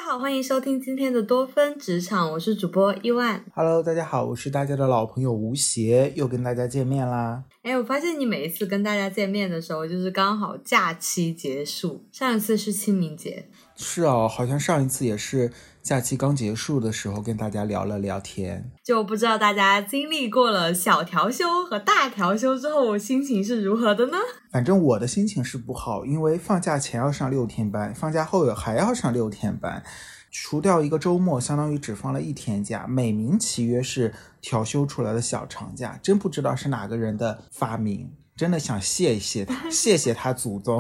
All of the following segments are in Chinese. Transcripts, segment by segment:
好，欢迎收听今天的多芬职场，我是主播伊万。 Hello， 大家好，我是大家的老朋友吴邪，又跟大家见面啦。 我发现你每一次跟大家见面的时候，就是刚好假期结束，上一次是清明节。 是哦，好像上一次也是假期刚结束的时候跟大家聊了聊天。 就不知道大家经历过了小调休和大调休之后，心情是如何的呢？ 反正我的心情是不好，因为放假前要上6天班，放假后还要上6天班，除掉一个周末，相当于只放了1天假，美名其曰是调休出来的小长假，真不知道是哪个人的发明，真的想谢谢他，谢谢他祖宗。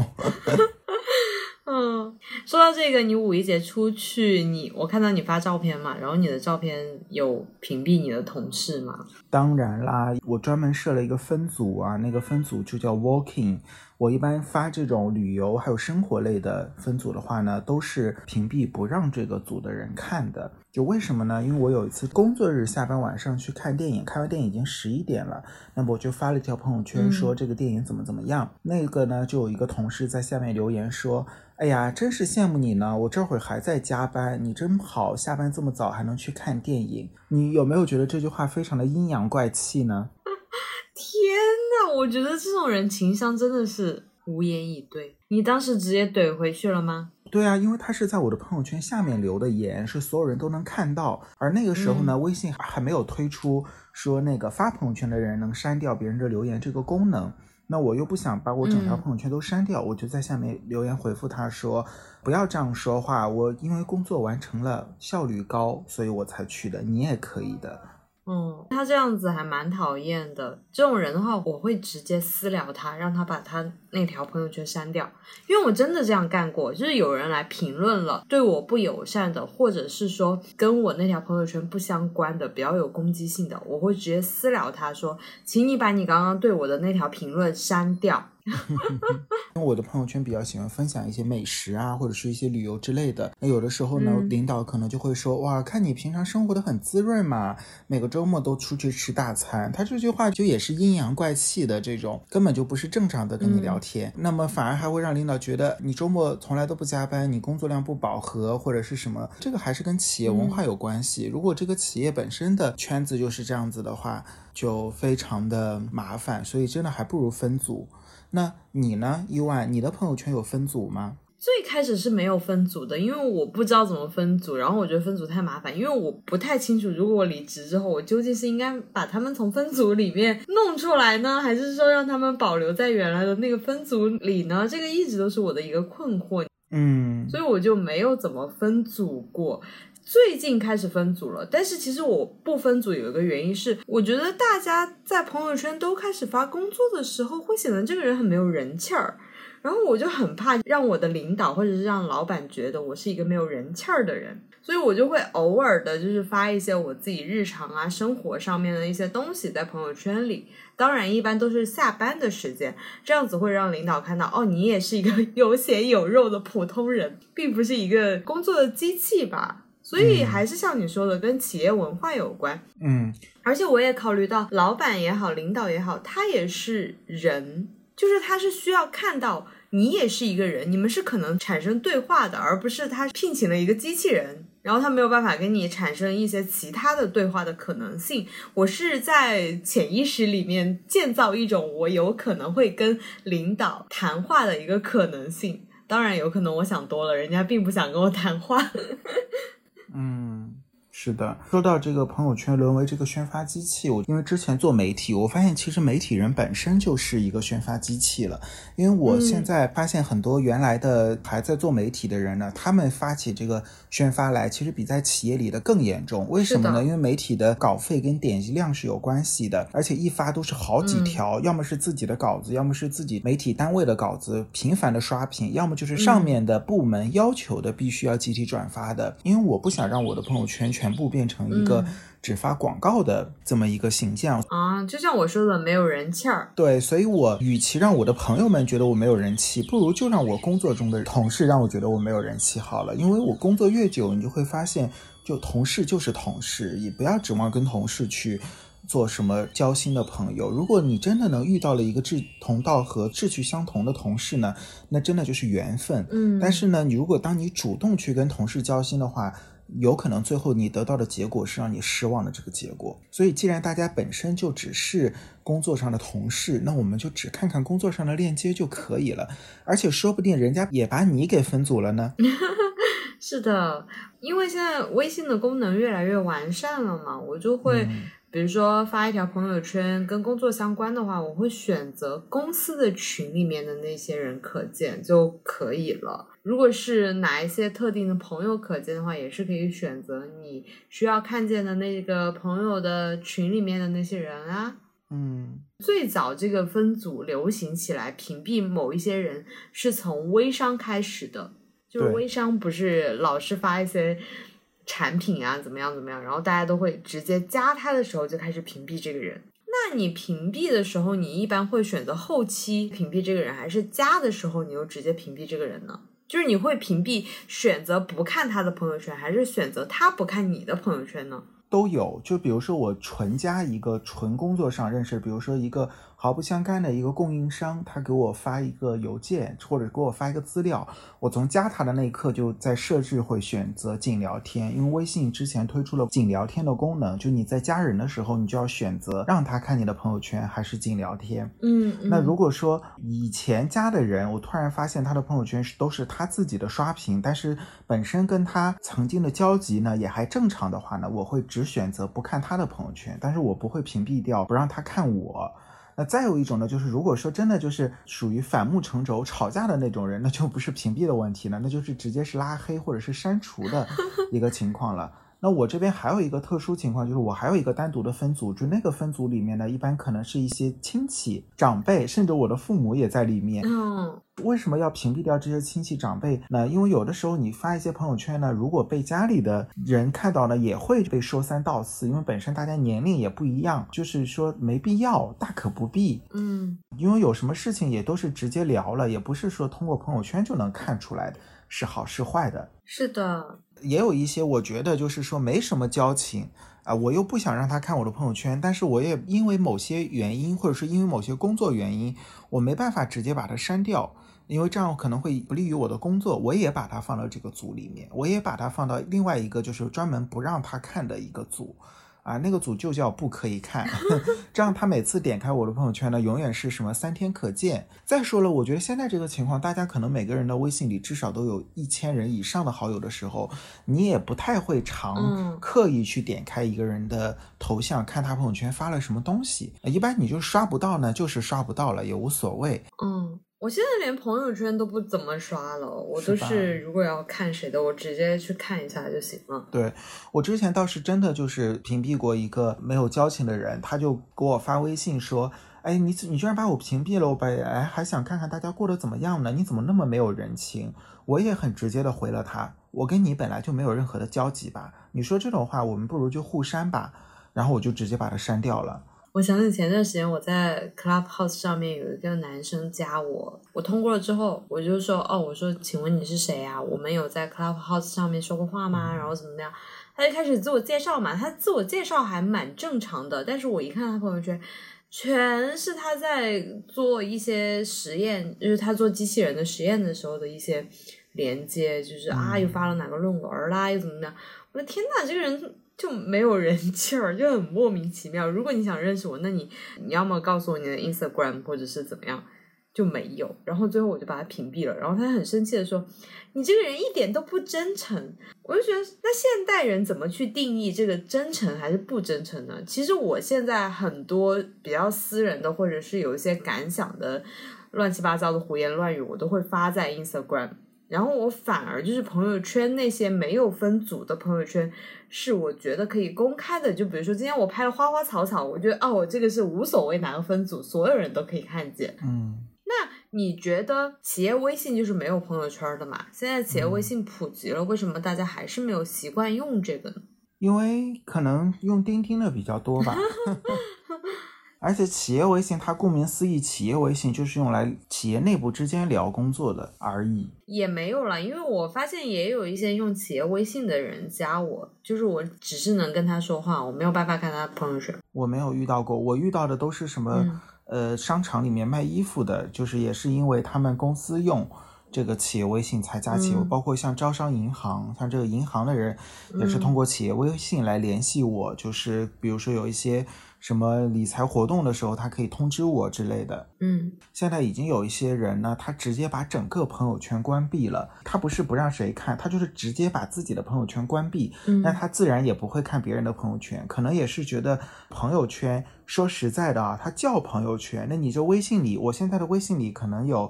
说到这个，你五一节出去，我看到你发照片嘛，然后你的照片有屏蔽你的同事吗？ 当然啦，我专门设了一个分组啊，那个分组就叫 Walking。我一般发这种旅游还有生活类的分组的话呢，都是屏蔽不让这个组的人看的。就为什么呢？因为我有一次工作日下班晚上去看电影，看完电影已经11点了，那么我就发了一条朋友圈说这个电影怎么样。那个呢，就有一个同事在下面留言说，哎呀，真是羡慕你呢，我这会儿还在加班，你真好，下班这么早还能去看电影。你有没有觉得这句话非常的阴阳怪气呢？ 天哪，我觉得这种人情商真的是无言以对。你当时直接怼回去了吗？ 对啊，因为他是在我的朋友圈下面留的言，是所有人都能看到。而那个时候呢，微信还没有推出说那个发朋友圈的人能删掉别人的留言这个功能。那我又不想把我整条朋友圈都删掉，我就在下面留言回复他说，不要这样说话，我因为工作完成了，效率高，所以我才去的，你也可以的。 他这样子还蛮讨厌的。这种人的话，我会直接私聊他，让他把他那条朋友圈删掉。因为我真的这样干过，就是有人来评论了对我不友善的，或者是说跟我那条朋友圈不相关的，比较有攻击性的，我会直接私聊他说，请你把你刚刚对我的那条评论删掉。 因为我的朋友圈比较喜欢分享一些美食啊，或者是一些旅游之类的。那有的时候呢，领导可能就会说，哇，看你平常生活的很滋润嘛，每个周末都出去吃大餐。他这句话就也是阴阳怪气的，这种根本就不是正常的跟你聊天。那么反而还会让领导觉得你周末从来都不加班，你工作量不饱和或者是什么。这个还是跟企业文化有关系。如果这个企业本身的圈子就是这样子的话，就非常的麻烦，所以真的还不如分组。那你呢，伊万，你的朋友圈有分组吗？ 最开始是没有分组的，因为我不知道怎么分组，然后我觉得分组太麻烦，因为我不太清楚如果我离职之后，我究竟是应该把他们从分组里面弄出来呢，还是说让他们保留在原来的那个分组里呢？这个一直都是我的一个困惑。所以我就没有怎么分组过。最近开始分组了，但是其实我不分组有一个原因是，我觉得大家在朋友圈都开始发工作的时候，会显得这个人很没有人气儿，然后我就很怕让我的领导或者是让老板觉得我是一个没有人气儿的人，所以我就会偶尔的就是发一些我自己日常啊生活上面的一些东西在朋友圈里，当然一般都是下班的时间，这样子会让领导看到，哦，你也是一个有血有肉的普通人，并不是一个工作的机器吧。所以还是像你说的，跟企业文化有关。而且我也考虑到老板也好，领导也好，他也是人，就是他是需要看到你也是一个人，你们是可能产生对话的，而不是他聘请了一个机器人，然后他没有办法跟你产生一些其他的对话的可能性。我是在潜意识里面建造一种我有可能会跟领导谈话的一个可能性，当然有可能我想多了，人家并不想跟我谈话。 是的，说到这个朋友圈沦为这个宣发机器，因为之前做媒体，我发现其实媒体人本身就是一个宣发机器了。因为我现在发现很多原来的还在做媒体的人呢，他们发起这个宣发来，其实比在企业里的更严重。为什么呢？因为媒体的稿费跟点击量是有关系的，而且一发都是好几条，要么是自己的稿子，要么是自己媒体单位的稿子频繁的刷屏，要么就是上面的部门要求的必须要集体转发的。因为我不想让我的朋友圈全部变成一个只发广告的这么一个形象就像我说的，没有人气儿。 对，所以我与其让我的朋友们觉得我没有人气，不如就让我工作中的同事让我觉得我没有人气好了。因为我工作越久，你就会发现就同事就是同事，也不要指望跟同事去做什么交心的朋友。如果你真的能遇到了一个志同道合志趣相同的同事呢，那真的就是缘分。但是呢，如果当你主动去跟同事交心的话，有可能最后你得到的结果是让你失望的这个结果。所以既然大家本身就只是工作上的同事，那我们就只看看工作上的链接就可以了，而且说不定人家也把你给分组了呢。 是的，因为现在微信的功能越来越完善了嘛，我就会比如说发一条朋友圈跟工作相关的话，我会选择公司的群里面的那些人可见就可以了。如果是哪一些特定的朋友可见的话，也是可以选择你需要看见的那个朋友的群里面的那些人啊。最早这个分组流行起来屏蔽某一些人是从微商开始的，就是微商不是老是发一些产品啊怎么样怎么样，然后大家都会直接加他的时候就开始屏蔽这个人。那你屏蔽的时候，你一般会选择后期屏蔽这个人，还是加的时候你又直接屏蔽这个人呢？就是你会屏蔽选择不看他的朋友圈，还是选择他不看你的朋友圈呢？ 都有。就比如说我纯加一个纯工作上认识，比如说一个毫不相干的一个供应商，他给我发一个邮件或者给我发一个资料，我从加他的那一刻就在设置会选择仅聊天。因为微信之前推出了仅聊天的功能，就你在加人的时候你就要选择让他看你的朋友圈还是仅聊天。那如果说以前加的人，我突然发现他的朋友圈都是他自己的刷屏，但是本身跟他曾经的交集呢也还正常的话呢，我会只选择不看他的朋友圈，但是我不会屏蔽掉不让他看我。那再有一种呢，就是如果说真的就是属于反目成仇吵架的那种人，那就不是屏蔽的问题了，那就是直接是拉黑或者是删除的一个情况了。那我这边还有一个特殊情况，就是我还有一个单独的分组，就那个分组里面呢，一般可能是一些亲戚长辈，甚至我的父母也在里面。为什么要屏蔽掉这些亲戚长辈呢？因为有的时候你发一些朋友圈呢，如果被家里的人看到呢，也会被说三道四，因为本身大家年龄也不一样，就是说没必要，大可不必。因为有什么事情也都是直接聊了，也不是说通过朋友圈就能看出来的是好是坏的。 是的， 也有一些我觉得就是说没什么交情我又不想让他看我的朋友圈，但是我也因为某些原因或者是因为某些工作原因，我没办法直接把它删掉，因为这样可能会不利于我的工作，我也把它放到这个组里面，我也把它放到另外一个就是专门不让他看的一个组那个组就叫不可以看这样他每次点开我的朋友圈呢，永远是什么3天可见。再说了，我觉得现在这个情况，大家可能每个人的微信里至少都有1000人以上的好友的时候，你也不太会常刻意去点开一个人的头像看他朋友圈发了什么东西，一般你就刷不到呢，就是刷不到了，也无所谓。 我现在连朋友圈都不怎么刷了，我都是如果要看谁的，我直接去看一下就行了。 对，我之前倒是真的就是屏蔽过一个没有交情的人，他就给我发微信说，你居然把我屏蔽了，我还想看看大家过得怎么样呢，你怎么那么没有人情。我也很直接的回了他，我跟你本来就没有任何的交集吧，你说这种话我们不如就互删吧，然后我就直接把它删掉了。 我想起前段时间我在 Clubhouse 上面有一个男生加我通过了之后，我就说我说请问你是谁啊？我们有在 Clubhouse 上面说过话吗？然后怎么样？他就开始自我介绍嘛，他自我介绍还蛮正常的，但是我一看他朋友圈，全是他在做一些实验，就是他做机器人的实验的时候的一些连接，就是又发了哪个论文啦，又怎么样？我的天哪，这个人就没有人气儿，就很莫名其妙。如果你想认识我，那你要么告诉我你的 Instagram 或者是怎么样，就没有。然后最后我就把他屏蔽了，然后他很生气的说，你这个人一点都不真诚。我就觉得那现代人怎么去定义这个真诚还是不真诚呢？其实我现在很多比较私人的或者是有一些感想的乱七八糟的胡言乱语，我都会发在 Instagram，然后我反而就是朋友圈那些没有分组的朋友圈是我觉得可以公开的，就比如说今天我拍了花花草草，我觉得我这个是无所谓哪个分组，所有人都可以看见。那你觉得企业微信就是没有朋友圈的嘛？现在企业微信普及了，为什么大家还是没有习惯用这个呢？ 因为可能用钉钉的比较多吧而且企业微信它顾名思义，企业微信就是用来企业内部之间聊工作的而已。 也没有啦，因为我发现也有一些用企业微信的人加我，就是我只是能跟他说话，我没有办法看他朋友圈。 我没有遇到过，我遇到的都是什么商场里面卖衣服的，就是也是因为他们公司用这个企业微信才加企业，包括像招商银行，像这个银行的人也是通过企业微信来联系我，就是比如说有一些什么理财活动的时候他可以通知我之类的。现在已经有一些人呢，他直接把整个朋友圈关闭了，他不是不让谁看，他就是直接把自己的朋友圈关闭，那他自然也不会看别人的朋友圈，可能也是觉得朋友圈说实在的啊，他叫朋友圈，那你这微信里，我现在的微信里可能有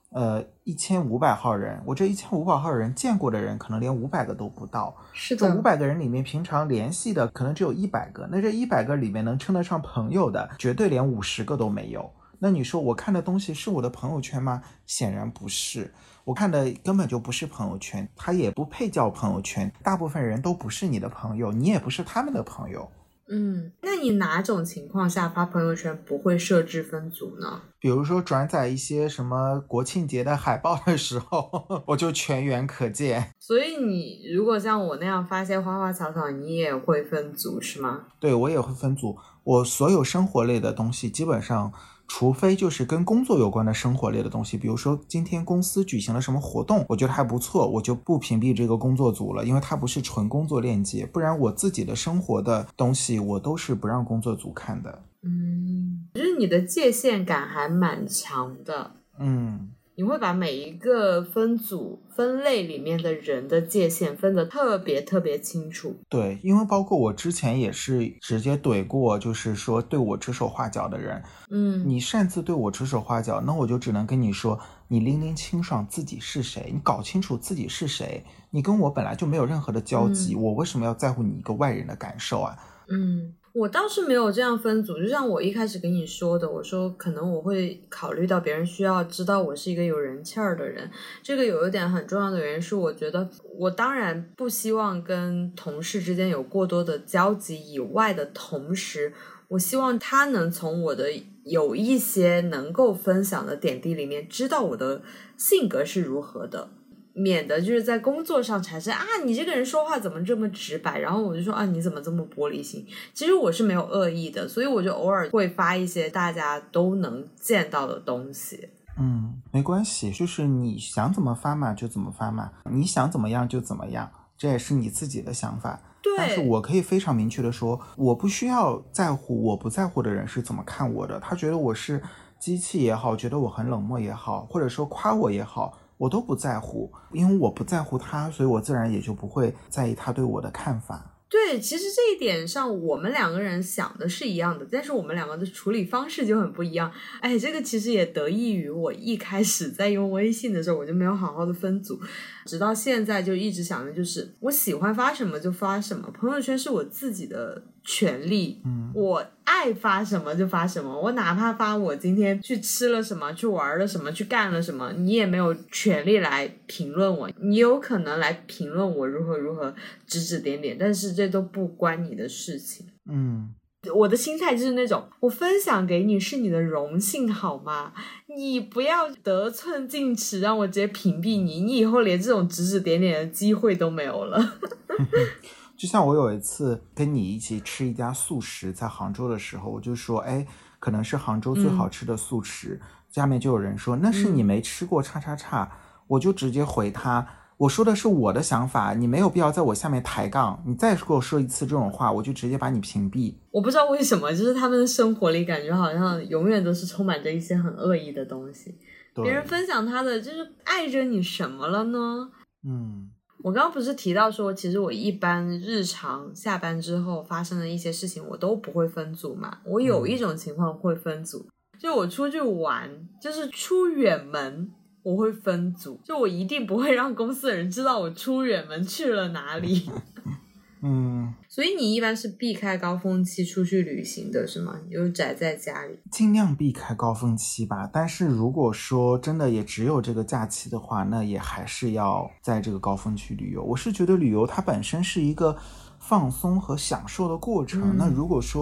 1500号人，我这1500号人见过的人可能连500个都不到。 是的， 这500个人里面平常联系的可能只有100个，那这100个里面能称得上朋友的绝对连50个都没有。那你说我看的东西是我的朋友圈吗？显然不是，我看的根本就不是朋友圈，它也不配叫朋友圈，大部分人都不是你的朋友，你也不是他们的朋友。 那你哪种情况下发朋友圈不会设置分组呢？ 比如说转载一些什么国庆节的海报的时候，我就全员可见。 所以你如果像我那样发些花花草草，你也会分组是吗？ 对，我也会分组。我所有生活类的东西基本上，除非就是跟工作有关的生活类的东西，比如说今天公司举行了什么活动，我觉得还不错，我就不屏蔽这个工作组了，因为它不是纯工作链接，不然我自己的生活的东西我都是不让工作组看的。 就是你的界限感还蛮强的。你会把每一个分组分类里面的人的界限分得特别特别清楚。 对，因为包括我之前也是直接怼过，就是说对我指手画脚的人。你擅自对我指手画脚，那我就只能跟你说，你拎拎清爽自己是谁，你搞清楚自己是谁，你跟我本来就没有任何的交集，我为什么要在乎你一个外人的感受啊？ 我倒是没有这样分组，就像我一开始跟你说的，我说可能我会考虑到别人需要知道我是一个有人气儿的人，这个有一点很重要的原因是我觉得我当然不希望跟同事之间有过多的交集以外的同时，我希望他能从我的有一些能够分享的点滴里面知道我的性格是如何的，免得就是在工作上产生你这个人说话怎么这么直白，然后我就说你怎么这么玻璃心，其实我是没有恶意的，所以我就偶尔会发一些大家都能见到的东西。 没关系，就是你想怎么发嘛就怎么发嘛，你想怎么样就怎么样，这也是你自己的想法。 对， 但是我可以非常明确的说，我不需要在乎我不在乎的人是怎么看我的，他觉得我是机器也好，觉得我很冷漠也好，或者说夸我也好，我都不在乎，因为我不在乎他，所以我自然也就不会在意他对我的看法。 对，其实这一点上我们两个人想的是一样的，但是我们两个的处理方式就很不一样。这个其实也得益于我一开始在用微信的时候我就没有好好的分组，直到现在就一直想的就是我喜欢发什么就发什么，朋友圈是我自己的权利，我爱发什么就发什么，我哪怕发我今天去吃了什么，去玩了什么，去干了什么，你也没有权利来评论我，你有可能来评论我如何如何指指点点，但是这都不关你的事情。我的心态就是那种，我分享给你是你的荣幸好吗？你不要得寸进尺让我直接屏蔽你，你以后连这种指指点点的机会都没有了。 就像我有一次跟你一起吃一家素食，在杭州的时候，我就说可能是杭州最好吃的素食，下面就有人说那是你没吃过叉叉叉，我就直接回他，我说的是我的想法，你没有必要在我下面抬杠，你再给我说一次这种话，我就直接把你屏蔽。我不知道为什么，就是他们的生活里感觉好像永远都是充满着一些很恶意的东西，别人分享他的就是碍着你什么了呢？我刚刚不是提到说其实我一般日常下班之后发生的一些事情我都不会分组嘛，我有一种情况会分组，就我出去玩，就是出远门我会分组，就我一定不会让公司的人知道我出远门去了哪里。所以你一般是避开高峰期出去旅行的是吗？你就宅在家里？ 尽量避开高峰期吧，但是如果说真的也只有这个假期的话，那也还是要在这个高峰期旅游。我是觉得旅游它本身是一个放松和享受的过程，那如果说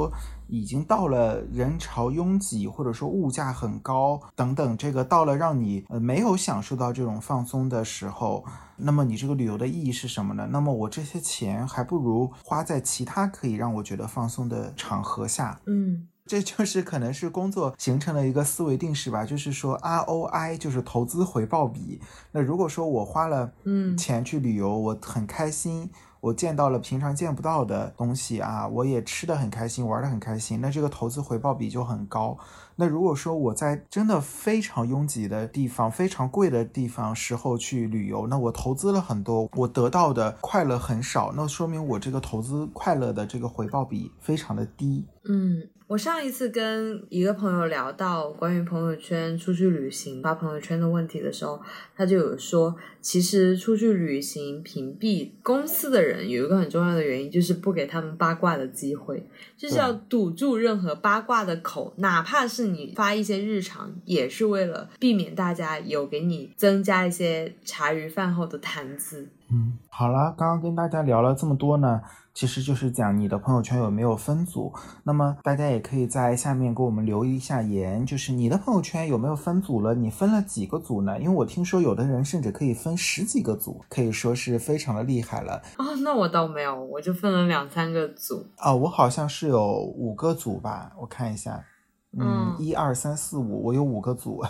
已经到了人潮拥挤，或者说物价很高等等，这个到了让你没有享受到这种放松的时候，那么你这个旅游的意义是什么呢？那么我这些钱还不如花在其他可以让我觉得放松的场合下。这就是可能是工作形成了一个思维定式吧，就是说 ROI 就是投资回报比。那如果说我花了钱去旅游，我很开心，我见到了平常见不到的东西啊，我也吃得很开心，玩得很开心，那这个投资回报比就很高。那如果说我在真的非常拥挤的地方，非常贵的地方时候去旅游，那我投资了很多，我得到的快乐很少，那说明我这个投资快乐的这个回报比非常的低。 我上一次跟一个朋友聊到关于朋友圈出去旅行发朋友圈的问题的时候，他就有说，其实出去旅行屏蔽公司的人有一个很重要的原因，就是不给他们八卦的机会，就是要堵住任何八卦的口，哪怕是你发一些日常，也是为了避免大家有给你增加一些茶余饭后的谈资。 好了，刚刚跟大家聊了这么多呢，其实就是讲你的朋友圈有没有分组。那么大家也可以在下面给我们留一下言，就是你的朋友圈有没有分组了，你分了几个组呢？因为我听说有的人甚至可以分10几个组，可以说是非常的厉害了。 那我倒没有，我就分了2-3个组。 我好像是有5个组吧，我看一下1、2、3、4、5，我有5个组。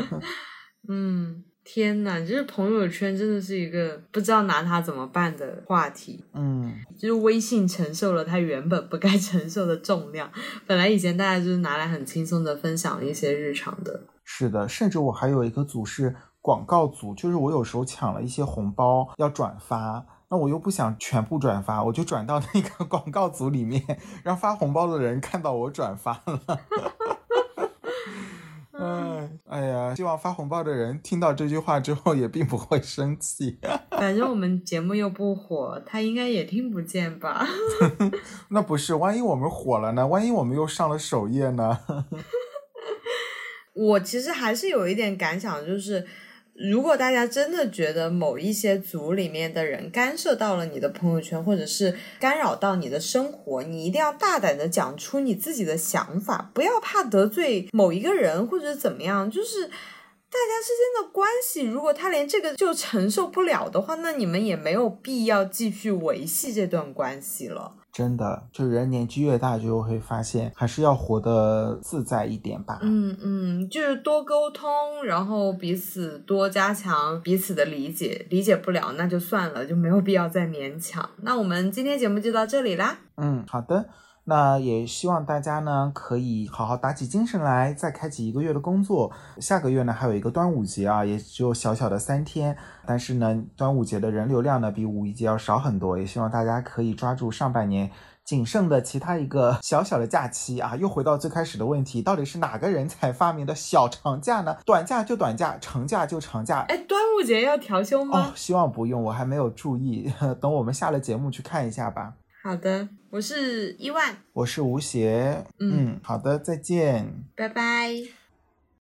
天哪，就是朋友圈真的是一个不知道拿它怎么办的话题。就是微信承受了它原本不该承受的重量，本来以前大家就是拿来很轻松的分享一些日常的。 是的，甚至我还有一个组是广告组，就是我有时候抢了一些红包要转发，那我又不想全部转发，我就转到那个广告组里面，让发红包的人看到我转发了。哎呀，希望发红包的人听到这句话之后也并不会生气。 反正我们节目又不火，他应该也听不见吧。 那不是，万一我们火了呢？万一我们又上了首页呢？ 我其实还是有一点感想，就是如果大家真的觉得某一些组里面的人干涉到了你的朋友圈，或者是干扰到你的生活，你一定要大胆的讲出你自己的想法，不要怕得罪某一个人或者怎么样，就是大家之间的关系，如果他连这个就承受不了的话，那你们也没有必要继续维系这段关系了。 真的，就人年纪越大就会发现还是要活得自在一点吧。 就是多沟通，然后彼此多加强彼此的理解，理解不了那就算了，就没有必要再勉强。那我们今天节目就到这里啦。 好的，那也希望大家呢可以好好打起精神来，再开启1个月的工作。下个月呢还有一个端午节啊，也只有小小的3天，但是呢端午节的人流量呢比5一节要少很多，也希望大家可以抓住上半年仅剩的其他一个小小的假期啊。又回到最开始的问题，到底是哪个人才发明的小长假呢？短假就短假，长假就长假。 端午节要调休吗？ 希望不用，我还没有注意，等我们下了节目去看一下吧。 好的，我是1万， 我是吴邪。好的，再见， 拜拜。